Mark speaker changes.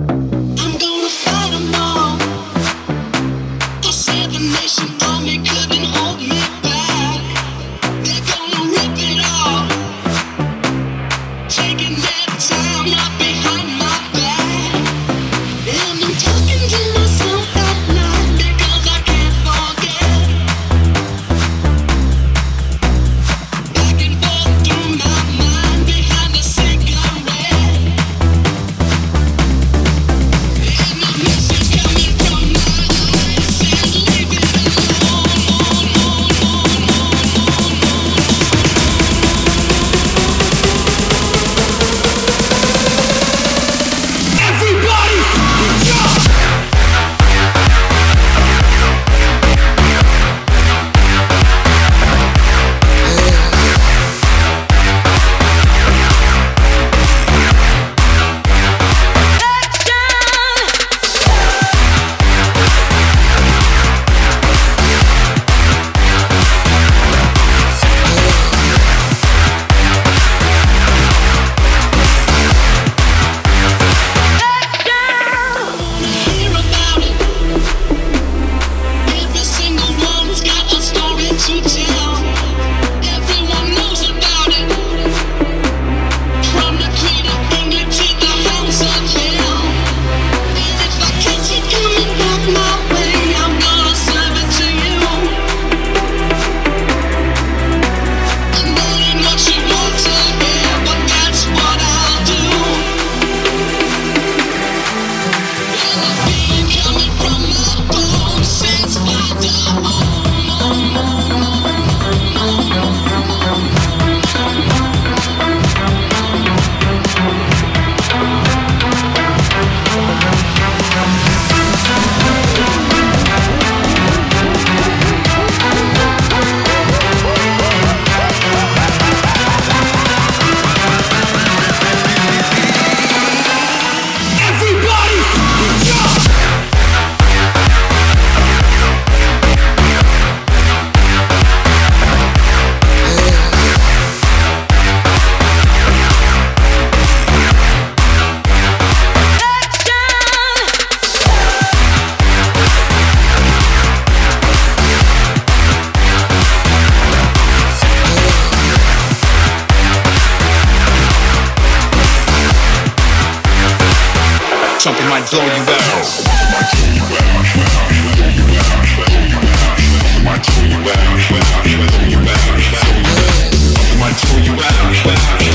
Speaker 1: I'm gonna fight 'em all. The Seven Nation Army couldn't hold me back. They're gonna rip it off, taking their time right behind my back. And I'm talking to myself at night because I can't forget. Back and forth through my mind behind the cigarette. And the message coming from my eyes says, leave it Everybody, jump! Hear about it. Every single one's got a story to tell. Everyone knows about it. From the Queen of England to the House of Hell. And if I catch it coming back my way, I'm gonna serve it to you. I know ain't what you want to hear, but that's what I'll do. And the feeling coming from my bones says, Father, everybody, jump!
Speaker 2: Something might blow you out. Might blow you out.